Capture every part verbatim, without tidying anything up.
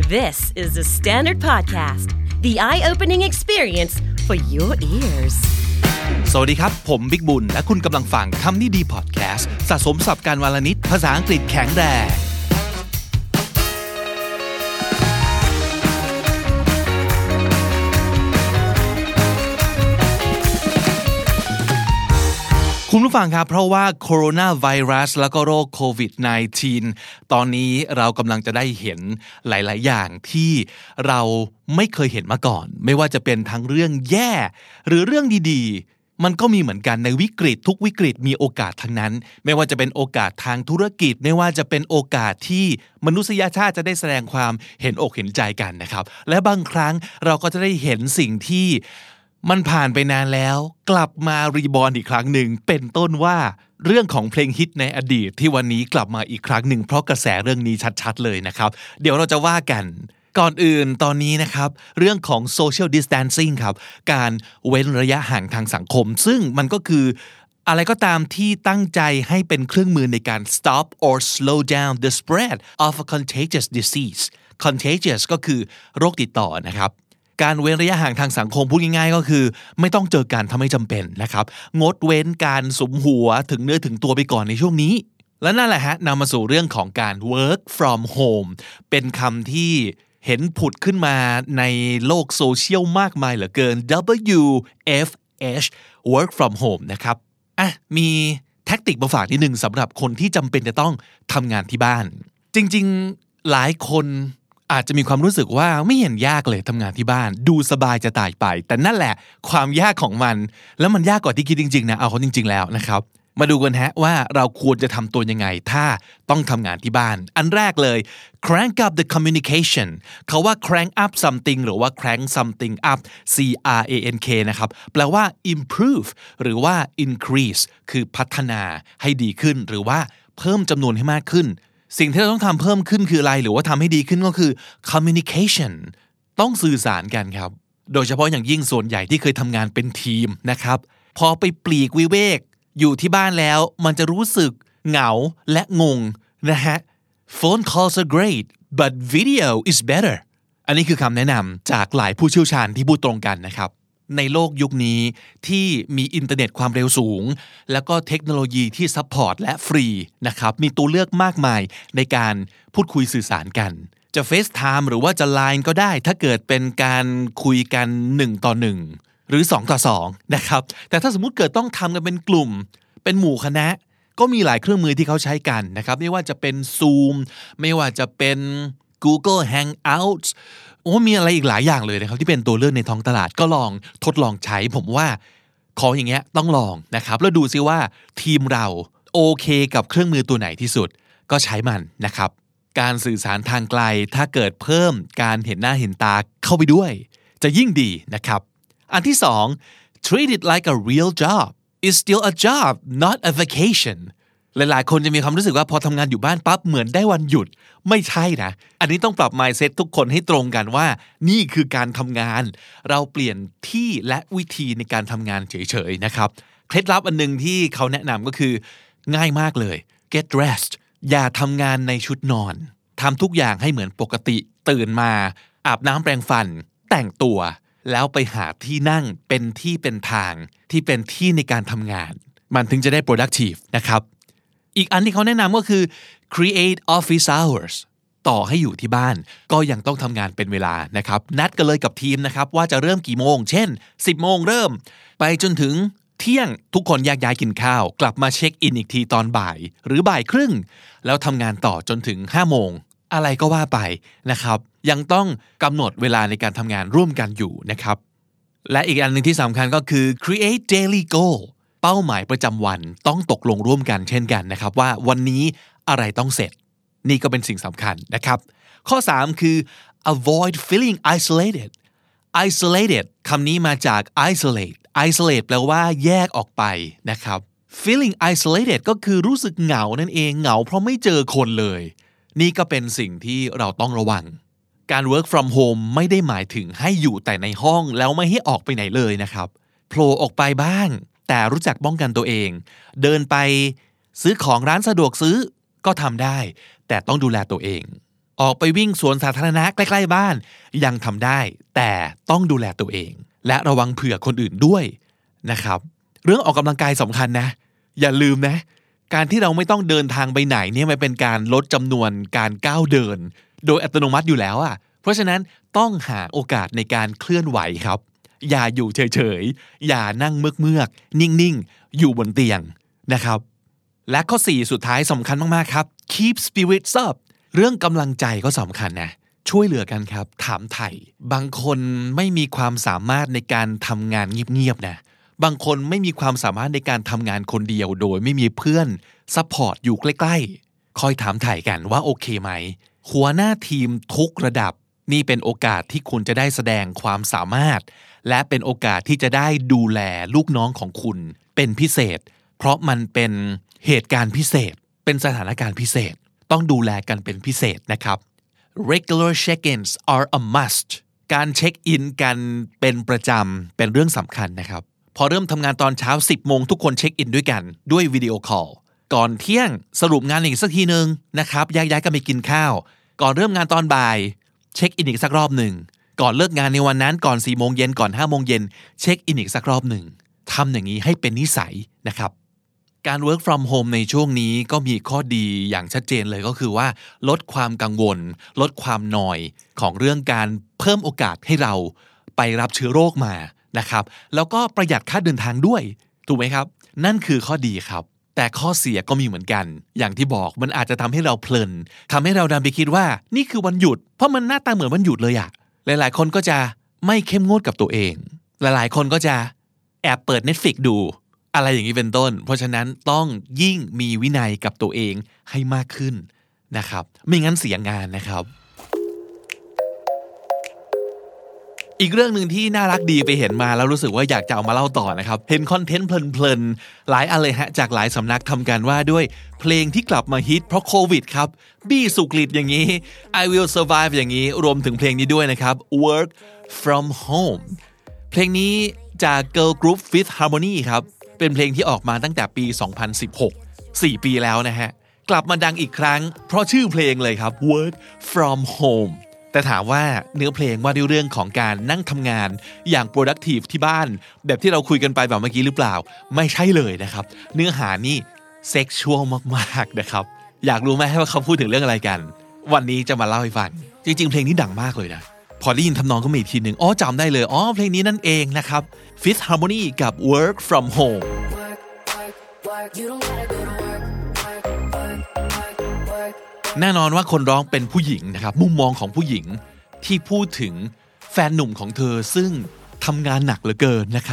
This is the Standard Podcast, the eye-opening experience for your ears. สวัสดีครับผมบิ๊กบุญและคุณกำลังฟังคำนี้ดีพอดแคสต์สะสมศัพท์การวลนิดภาษาอังกฤษแข็งแรงคุณผู้ฟังครับเพราะว่าโคโรนาไวรัสแล้วก็โรคโควิด สิบเก้า ตอนนี้เรากำลังจะได้เห็นหลายๆอย่างที่เราไม่เคยเห็นมาก่อนไม่ว่าจะเป็นทั้งเรื่องแย่หรือเรื่องดีๆมันก็มีเหมือนกันในวิกฤตทุกวิกฤตมีโอกาสทั้งนั้นไม่ว่าจะเป็นโอกาสทางธุรกิจไม่ว่าจะเป็นโอกาสที่มนุษยชาติจะได้แสดงความเห็นอกเห็นใจกันนะครับและบางครั้งเราก็จะได้เห็นสิ่งที่มันผ่านไปนานแล้วกลับมารีบอร์นอีกครั้งหนึ่งเป็นต้นว่าเรื่องของเพลงฮิตในอดีตที่วันนี้กลับมาอีกครั้งหนึ่งเพราะกระแสเรื่องนี้ชัดๆเลยนะครับเดี๋ยวเราจะว่ากันก่อนอื่นตอนนี้นะครับเรื่องของ social distancing ครับการเว้นระยะห่างทางสังคมซึ่งมันก็คืออะไรก็ตามที่ตั้งใจให้เป็นเครื่องมือในการ stop or slow down the spread of a contagious disease contagious ก็คือโรคติดต่อนะครับการเว้นระยะห่างทางสังคมพูดง่ายๆก็คือไม่ต้องเจอกันถ้าไม่จำเป็นนะครับงดเว้นการสุมหัวถึงเนื้อถึงตัวไปก่อนในช่วงนี้และนั่นแหละฮะนำมาสู่เรื่องของการ work from home เป็นคำที่เห็นผุดขึ้นมาในโลกโซเชียลมากมายเหลือเกิน ดับเบิลยู เอฟ เอช work from home นะครับอ่ะมีแท็กติกมาฝากนิดนึงสำหรับคนที่จำเป็นจะต้องทำงานที่บ้านจริงๆหลายคนอาจจะมีความรู้สึกว่าไม่เห็นยากเลยทำงานที่บ้านดูสบายจะตายไปแต่นั่นแหละความยากของมันแล้วมันยากกว่าที่คิดจริงๆนะเอาเขาจริงๆแล้วนะครับมาดูกันฮะว่าเราควรจะทำตัวยังไงถ้าต้องทำงานที่บ้านอันแรกเลย crank up the communication เขาว่า crank up something หรือว่า crank something up C R A N K นะครับแปลว่า improve หรือว่า increase คือพัฒนาให้ดีขึ้นหรือว่าเพิ่มจำนวนให้มากขึ้นสิ่งที่เราต้องทำเพิ่มขึ้นคืออะไรหรือว่าทำให้ดีขึ้นก็คือ communication ต้องสื่อสารกันครับโดยเฉพาะอย่างยิ่งส่วนใหญ่ที่เคยทำงานเป็นทีมนะครับพอไปปลีกวิเวกอยู่ที่บ้านแล้วมันจะรู้สึกเหงาและงงนะฮะ phone calls are great but video is better อันนี้คือคำแนะนำจากหลายผู้เชี่ยวชาญที่พูดตรงกันนะครับในโลกยุคนี้ที่มีอินเทอร์เน็ตความเร็วสูงแล้วก็เทคโนโลยีที่ซัพพอร์ตและฟรีนะครับมีตัวเลือกมากมายในการพูดคุยสื่อสารกันจะ FaceTime หรือว่าจะ ไลน์ ก็ได้ถ้าเกิดเป็นการคุยกันหนึ่งต่อหนึ่งหรือสองต่อสองนะครับแต่ถ้าสมมุติเกิดต้องทำกันเป็นกลุ่มเป็นหมู่คณะก็มีหลายเครื่องมือที่เขาใช้กันนะครับไม่ว่าจะเป็น Zoom ไม่ว่าจะเป็น Google Hangouts โอ้มีอะไรอีกหลายอย่างเลยนะครับที่เป็นตัวเลือกในท้องตลาดก็ลองทดลองใช้ผมว่าของอย่างเงี้ยต้องลองนะครับแล้วดูซิว่าทีมเราโอเคกับเครื่องมือตัวไหนที่สุดก็ใช้มันนะครับการสื่อสารทางไกลถ้าเกิดเพิ่มการเห็นหน้าเห็นตาเข้าไปด้วยจะยิ่งดีนะครับอันที่สอง treat it like a real job it's still a job not a vacationหลายๆคนจะมีความรู้สึกว่าพอทำงานอยู่บ้านปั๊บเหมือนได้วันหยุดไม่ใช่นะอันนี้ต้องปรับ mindset ทุกคนให้ตรงกันว่านี่คือการทำงานเราเปลี่ยนที่และวิธีในการทำงานเฉยๆนะครับเคล็ดลับอันนึงที่เขาแนะนำก็คือง่ายมากเลย get dressed อย่าทำงานในชุดนอนทำทุกอย่างให้เหมือนปกติตื่นมาอาบน้ำแปรงฟันแต่งตัวแล้วไปหาที่นั่งเป็นที่เป็นทางที่เป็นที่ในการทำงานมันถึงจะได้ productive นะครับอีกอันที่เขาแนะนำก็คือ create office hours ต่อให้อยู่ที่บ้านก็ยังต้องทำงานเป็นเวลานะครับนัดกันเลยกับทีมนะครับว่าจะเริ่มกี่โมงเช่นสิบโมงเริ่มไปจนถึงเที่ยงทุกคนแยกย้ายกินข้าวกลับมาเช็คอินอีกทีตอนบ่ายหรือบ่ายครึ่งแล้วทำงานต่อจนถึงห้าโมงอะไรก็ว่าไปนะครับยังต้องกำหนดเวลาในการทำงานร่วมกันอยู่นะครับและอีกอันนึงที่สำคัญก็คือ create daily goalเป้าหมายประจำวันต้องตกลงร่วมกันเช่นกันนะครับว่าวันนี้อะไรต้องเสร็จนี่ก็เป็นสิ่งสำคัญนะครับข้อสามคือ avoid feeling isolated isolated คำนี้มาจาก isolate isolate แปลว่าแยกออกไปนะครับ feeling isolated ก็คือรู้สึกเหงานั่นเองเหงาเพราะไม่เจอคนเลยนี่ก็เป็นสิ่งที่เราต้องระวังการ work from home ไม่ได้หมายถึงให้อยู่แต่ในห้องแล้วไม่ให้ออกไปไหนเลยนะครับโผล่ออกไปบ้างแต่รู้จักป้องกันตัวเองเดินไปซื้อของร้านสะดวกซื้อก็ทำได้แต่ต้องดูแลตัวเองออกไปวิ่งสวนสาธารณะใกล้ๆบ้านยังทำได้แต่ต้องดูแลตัวเองและระวังเผื่อคนอื่นด้วยนะครับเรื่องออกกำลังกายสำคัญนะอย่าลืมนะการที่เราไม่ต้องเดินทางไปไหนเนี่ยมันเป็นการลดจำนวนการก้าวเดินโดยอัตโนมัติอยู่แล้วอ่ะเพราะฉะนั้นต้องหาโอกาสในการเคลื่อนไหวครับอย่าอยู่เฉยๆอย่านั่งเมือกๆนิ่งๆอยู่บนเตียงนะครับและข้อสี่สุดท้ายสำคัญมากๆครับ keep spirits up เรื่องกำลังใจก็สำคัญนะช่วยเหลือกันครับถามไถ่บางคนไม่มีความสามารถในการทำงานเงียบๆนะบางคนไม่มีความสามารถในการทำงานคนเดียวโดยไม่มีเพื่อนซัพพอร์ตอยู่ใกล้ๆคอยถามไถ่กันว่าโอเคไหมหัวหน้าทีมทุกระดับนี่เป็นโอกาสที่คุณจะได้แสดงความสามารถและเป็นโอกาสที่จะได้ดูแลลูกน้องของคุณเป็นพิเศษเพราะมันเป็นเหตุการณ์พิเศษเป็นสถานการณ์พิเศษต้องดูแลกันเป็นพิเศษนะครับ regular check-ins are a must การเช็คอินกันเป็นประจำเป็นเรื่องสำคัญนะครับพอเริ่มทำงานตอนเช้าสิบโมงทุกคนเช็คอินด้วยกันด้วยวิดีโอคอลก่อนเที่ยงสรุปงานอีกสักทีนึงนะครับย้ายๆกันไปกินข้าวก่อนเริ่มงานตอนบ่ายเช็คอินอีกสักรอบหนึ่งก่อนเลิกงานในวันนั้นก่อนสี่โมงเย็นก่อนห้าโมงเย็นเช็คอินอีกสักรอบหนึ่งทำอย่างนี้ให้เป็นนิสัยนะครับการ work from home ในช่วงนี้ก็มีข้อดีอย่างชัดเจนเลยก็คือว่าลดความกังวลลดความนอยของเรื่องการเพิ่มโอกาสให้เราไปรับเชื้อโรคมานะครับแล้วก็ประหยัดค่าเดินทางด้วยถูกไหมครับนั่นคือข้อดีครับแต่ข้อเสียก็มีเหมือนกันอย่างที่บอกมันอาจจะทำให้เราเพลินทำให้เราดันไปคิดว่านี่คือวันหยุดเพราะมันหน้าตาเหมือนวันหยุดเลยอะหลายๆคนก็จะไม่เข้มงวดกับตัวเองหลายๆคนก็จะแอบเปิด Netflix ดูอะไรอย่างนี้เป็นต้นเพราะฉะนั้นต้องยิ่งมีวินัยกับตัวเองให้มากขึ้นนะครับไม่งั้นเสียงานนะครับอีกเรื่องหนึ่งที่น่ารักดีไปเห็นมาแล้วรู้สึกว่าอยากจะเอามาเล่าต่อนะครับเห็นคอนเทนต์เพลินๆหลายอันเลยฮะจากหลายสำนักทำกันว่าด้วยเพลงที่กลับมาฮิตเพราะโควิดครับบี้สุกฤตอย่างนี้ I Will Survive อย่างนี้รวมถึงเพลงนี้ด้วยนะครับ Work from Home เพลงนี้จาก Girl Group Fifth Harmony ครับเป็นเพลงที่ออกมาตั้งแต่ปีสองพันสิบหก สี่ปีแล้วนะฮะกลับมาดังอีกครั้งเพราะชื่อเพลงเลยครับ Work from Homeแต่ถามว่าเนื้อเพลงว่าด้วยเรื่องของการนั่งทำงานอย่าง productive ที่บ้านแบบที่เราคุยกันไปแบบเมื่อกี้หรือเปล่าไม่ใช่เลยนะครับเนื้อหานี่ sexual มากๆนะครับอยากรู้ไหมว่าเขาพูดถึงเรื่องอะไรกันวันนี้จะมาเล่าให้ฟังจริงๆเพลงนี้ดังมากเลยนะพอได้ยินทำนองก็มีอีกทีนึงอ๋อจำได้เลยอ๋อเพลงนี้นั่นเองนะครับ Fifth Harmony กับ Work from Homeแน่นอนว่าคนร้องเป็นผู้หญิงนะครับมุมมองของผู้หญิงที่พูดถึงแฟนหนุ่มของเธอซึ่งทำงานหนักเหลือเกินนะครับ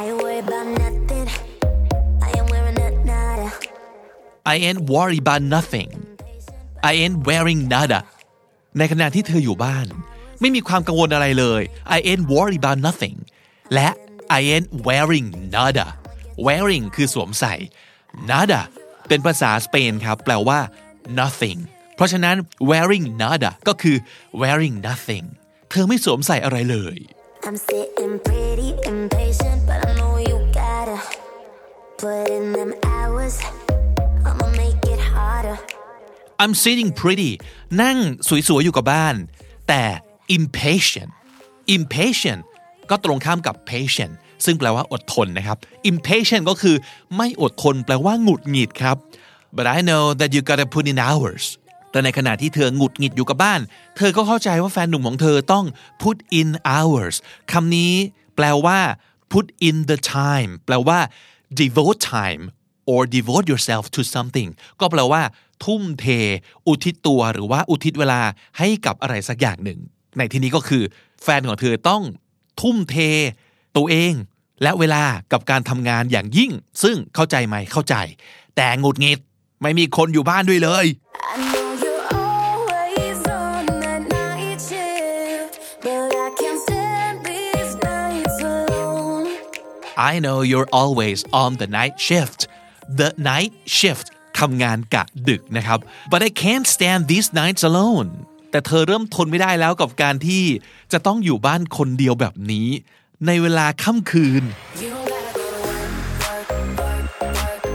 I ain't worried about nothing I ain't wearing nada ในขณะที่เธออยู่บ้านไม่มีความกังวลอะไรเลย I ain't worried about nothing และ I ain't wearing nada wearing คือสวมใส่ nada เป็นภาษาสเปนครับแปลว่า nothingเพราะฉะนั้น wearing nada ก็คือ wearing nothing เธอไม่สวมใส่อะไรเลย I'm sitting pretty impatient but I know you gotta put in them hours I'ma make it harder I'm sitting pretty นั่งสวยๆอยู่กับบ้านแต่ impatient impatient ก็ตรงข้ามกับ patient ซึ่งแปลว่าอดทนนะครับ impatient ก็คือไม่อดทนแปลว่าหงุดหงิดครับ but I know that you gotta put in hoursแต่ในขณะที่เธอหงุดหงิดอยู่กับบ้านเธอก็เข้าใจว่าแฟนหนุ่มของเธอต้อง put in hours คำนี้แปลว่า put in the time แปลว่า devote time or devote yourself to something ก็แปลว่าทุ่มเทอุทิศตัวหรือว่าอุทิศเวลาให้กับอะไรสักอย่างหนึ่งในที่นี้ก็คือแฟนของเธอต้องทุ่มเทตัวเองและเวลากับการทำงานอย่างยิ่งซึ่งเข้าใจไหมเข้าใจแต่หงุดหงิดไม่มีคนอยู่บ้านด้วยเลย I know you're always on the night shift the night shift ทำงานกะดึกนะครับ but I can't stand these nights alone แต่เธอเริ่มทนไม่ได้แล้วกับการที่จะต้องอยู่บ้านคนเดียวแบบนี้ในเวลาค่ำคืน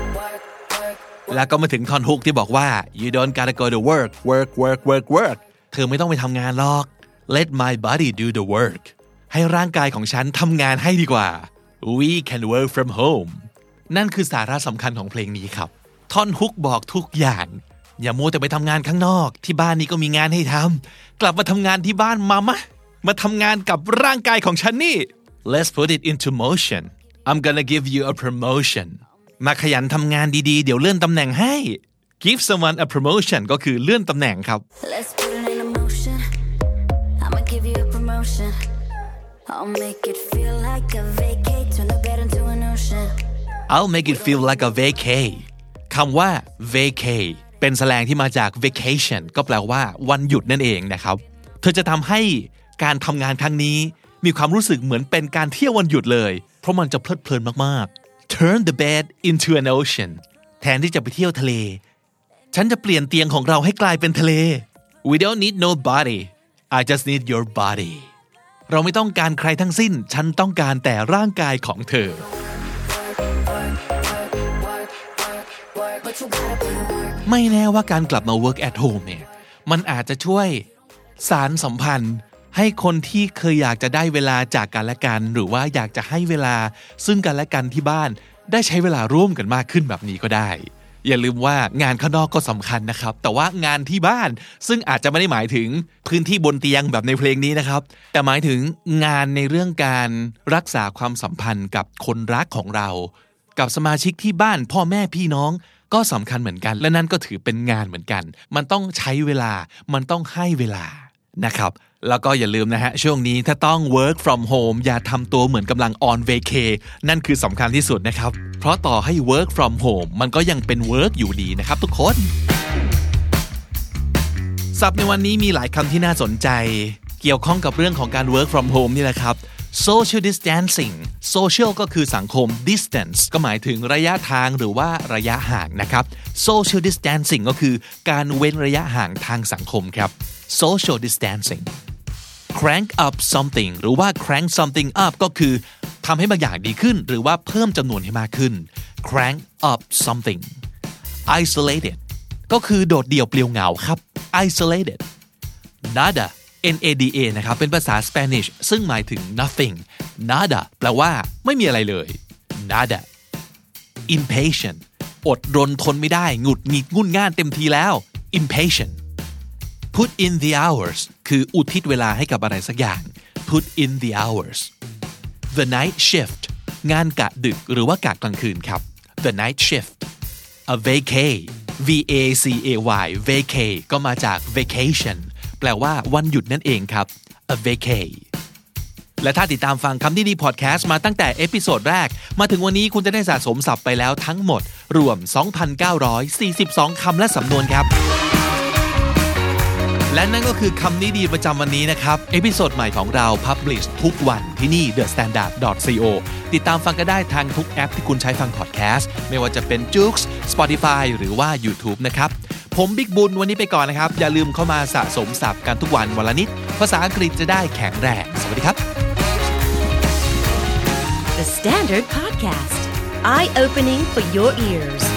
แล้วก็มาถึงท่อนฮุกที่บอกว่า you don't gotta go to work work work work work เธอไม่ต้องไปทำงานหรอก Let my body do the work ให้ร่างกายของฉันทำงานให้ดีกว่า We can work from home นั่นคือสาระสำคัญของเพลงนี้ครับท่อนฮุกบอกทุกอย่างอย่ามัวแต่ไปทำงานข้างนอกที่บ้านนี้ก็มีงานให้ทำกลับมาทำงานที่บ้านมามะมาทำงานกับร่างกายของฉันนี่ Let's put it into motion I'm gonna give you a promotion มาขยันทำงานดีๆเดี๋ยวเลื่อนตำแหน่งให้ Give someone a promotion ก็คือเลื่อนตำแหน่งครับ Let's put it into motion I'ma give you a promotion I'll make it feel like a vacay Turn the bed into an ocean I'll make it feel like a vacay คำว่า vacay เป็นแสแลงที่มาจาก vacation ก็แปลว่าวันหยุดนั่นเองนะครับเธอจะทำให้การทำงานครั้งนี้มีความรู้สึกเหมือนเป็นการเที่ยววันหยุดเลยเพราะมันจะเพลิดเพลินมากๆ Turn the bed into an ocean แทนที่จะไปเที่ยวทะเลฉันจะเปลี่ยนเตียงของเราให้กลายเป็นทะเล We don't need nobody I just need your body เราไม่ต้องการใครทั้งสิ้นฉันต้องการแต่ร่างกายของเธอไม่แน่ว่าการกลับมา work at home เนี่ยมันอาจจะช่วยสารสัมพันธ์ให้คนที่เคยอยากจะได้เวลาจากกันและกันหรือว่าอยากจะให้เวลาซึ่งกันและกันที่บ้านได้ใช้เวลาร่วมกันมากขึ้นแบบนี้ก็ได้อย่าลืมว่างานข้างนอกก็สำคัญนะครับแต่ว่างานที่บ้านซึ่งอาจจะไม่ได้หมายถึงพื้นที่บนเตียงแบบในเพลงนี้นะครับแต่หมายถึงงานในเรื่องการรักษาความสัมพันธ์กับคนรักของเรากับสมาชิกที่บ้านพ่อแม่พี่น้องก็สำคัญเหมือนกันและนั่นก็ถือเป็นงานเหมือนกันมันต้องใช้เวลามันต้องให้เวลานะครับแล้วก็อย่าลืมนะฮะช่วงนี้ถ้าต้อง work from home อย่าทำตัวเหมือนกำลัง on vacay นั่นคือสำคัญที่สุดนะครับเพราะต่อให้ work from home มันก็ยังเป็น work อยู่ดีนะครับทุกคนศัพท์ในวันนี้มีหลายคำที่น่าสนใจเกี่ยวข้องกับเรื่องของการ work from home นี่แหละครับ social distancing social ก็คือสังคม distance ก็หมายถึงระยะทางหรือว่าระยะห่างนะครับ social distancing ก็คือการเว้นระยะห่างทางสังคมครับ social distancing crank up something หรือว่า crank something up ก็คือทำให้บางอย่างดีขึ้นหรือว่าเพิ่มจำนวนให้มากขึ้น crank up something isolated ก็คือโดดเดี่ยวเปลี่ยวเหงาครับ isolated nada N A D A นะครับเป็นภาษาสเปนิชซึ่งหมายถึง nothing nada แปลว่าไม่มีอะไรเลย nada impatient อดรนทนไม่ได้หงุดหงิดงุ่นง่านเต็มทีแล้ว impatient put in the hours คืออุทิศเวลาให้กับอะไรสักอย่าง put in the hours the night shift งานกะดึกหรือว่ากะกลางคืนครับ the night shift a vacay V A C A Y vacay ก็มาจาก vacation แปลว่าวันหยุดนั่นเองครับ a vacay และถ้าติดตามฟังคำนี้ดีพอดแคสต์มาตั้งแต่เอพิโซดแรกมาถึงวันนี้คุณจะได้สะสมศัพท์ไปแล้วทั้งหมดรวม สองพันเก้าร้อยสี่สิบสอง คำและสำนวนครับและนั่นก็คือคำนี้ดีประจำวันนี้นะครับเอพิโซดใหม่ของเรา Publish ทุกวันที่นี่ the standard dot co ติดตามฟังกันได้ทางทุกแอปที่คุณใช้ฟังพอดแคสต์ไม่ว่าจะเป็น Joox Spotify หรือว่า YouTube นะครับผมบิ๊กบุญวันนี้ไปก่อนนะครับอย่าลืมเข้ามาสะสมศัพท์กันทุกวันวันละนิดภาษาอังกฤษจะได้แข็งแรงสวัสดีครับ The Standard Podcast Eye Opening for Your Ears